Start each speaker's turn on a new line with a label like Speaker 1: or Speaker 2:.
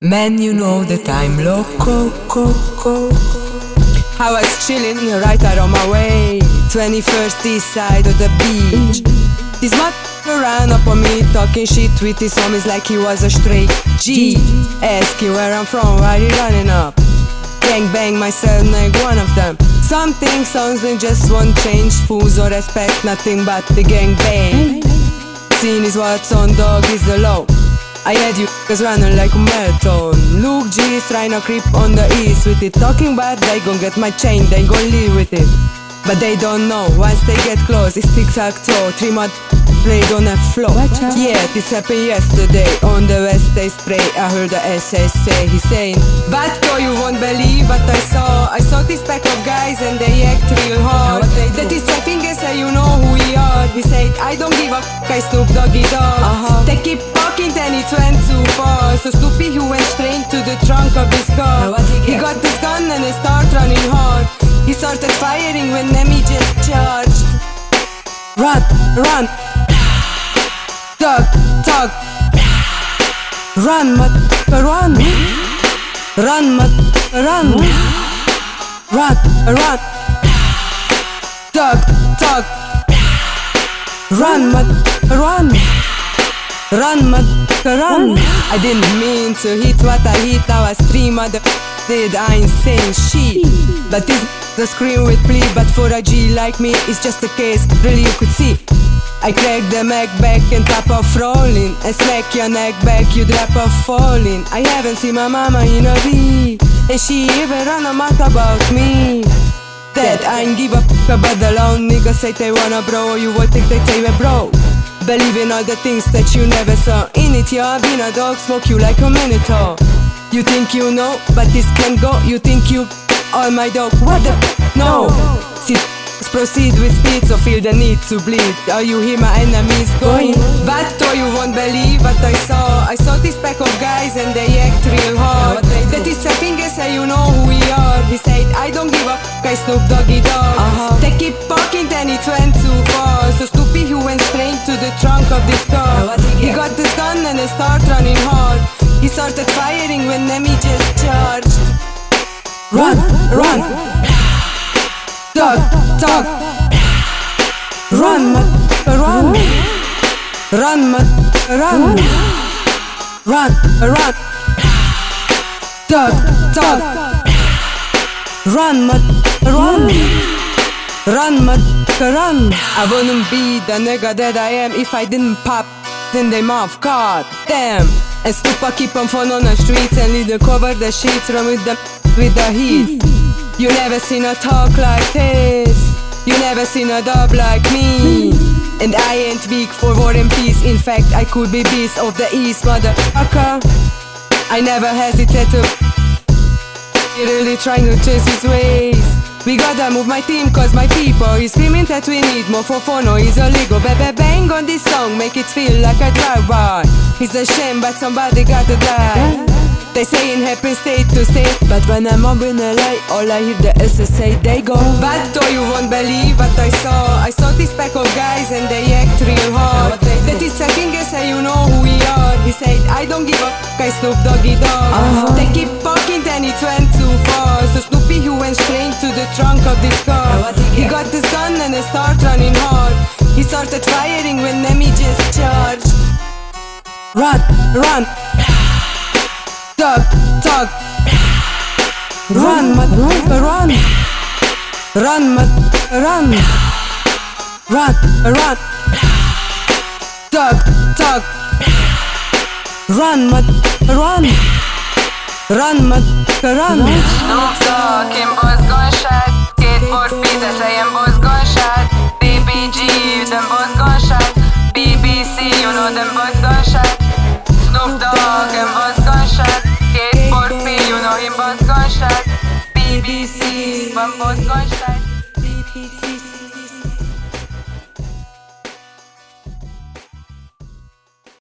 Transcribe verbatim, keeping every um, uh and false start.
Speaker 1: Man, you know that I'm loco, coco. I was chilling right out on my way, twenty-first east side of the beach. This motherfucker ran up on me, talking shit with his homies like he was a straight G. Asking where I'm from, why he running up? Gang bang myself like one of them. Something sounds like just one change. Fools or respect, nothing but the gang bang. Scene is what's on, dog is the low. I had you niggas running like a marathon. Luke G's trying to creep on the east with it. Talking bad, they gon' get my chain, they gon' leave with it. But they don't know, once they get close, it's tic-tac-toe. Three mud played on a floor. Yeah, this happened yesterday. On the west they spray, I heard the S S say. He's saying, Vatko, you won't believe what I saw. I saw this pack of guys and they act real hard. That is I think I say you know who we are. He said, I don't give a f**k, I Snoop Doggy Dogg. uh-huh. They keep talking then it went too far. So Snoopy he went straight to the trunk of his car. He got this gun and he started running hard. He started firing when Nemi just charged. Run, run, tug, tug. Run, mud, run. Run, mud, run. Run, run. Tug, tug. Run, mud, run. Run, mud, run. I didn't mean to hit what I hit. I was three mother did, I ain't saying shit. But this the scream with plea. But for a G like me, it's just a case, really you could see. I crack the Mac back and top off rolling. And slack your neck back, you drop off falling. I haven't seen my mama in a week, and she even run a mouth about me. That I ain't give a f**k about the lone niggas say they wanna bro. You would think they say we're bro. Believe in all the things that you never saw. In it, yeah, been a dog, smoke you like a minotaur. You think you know, but this can go. You think you all my dog, what the f**k? No. See, proceed with speed, so feel the need to bleed. Are you hear my enemies going? Vatko, you won't believe what I saw. I saw this pack of guys and they act real hard. That is a finger say you know who we are. He said, I don't give a f**k, I Snoop Doggy Dogg. uh-huh. They keep talking then it went too far. So Snoopy he went straight to the trunk of this car. He got this gun and he started running hard. He started firing when Nemi just charged. Run, run, tug, tug. Run, mud, run. Run, mud, run. Run, run. Tug, tug. Run, mud, run. Run, mud, run. I wouldn't be the nigga that I am if I didn't pop in their mouth, god damn. And Snoopa keep on fun on the streets and lead cover the sheets, run with the with the heat. You never seen a talk like this. You never seen a dub like me. And I ain't weak for war and peace. In fact, I could be beast of the east, motherfucker. I never hesitate to He really trying to chase his ways. We gotta move my team cause my people is screaming that we need more for phono. Is a Lego baby bang on this song, make it feel like a drive-by. It's a shame but somebody gotta die. They say it happens state to state, but when I'm up in L A, all I hear the S S A, they go Vatko, you won't believe what I saw. I saw this pack of guys and they act real hard. That is a finger say you know who we are. He said, I don't give a f**k, I Snoop Doggy Dogg. uh-huh. They keep talking then it went too far. So Snoopy he went straight to the trunk of this car. He got this gun and he started running hard. He started firing when Nemi just charged. Run, run. Tug, tug. Run, mud, run. Run, mud, run. Run, run. Tug, tug. Run, mud, run. Run, mud, run.
Speaker 2: Snoop Dogg, him boss gunshot. Skateboard speed, I say him boss gunshot. B B G, them boss gunshot. B B C, you know them boss gunshot. Snoop Dogg, him boss gunshot. Skateboard speed, you know him boss gunshot. B B C, one boss gunshot.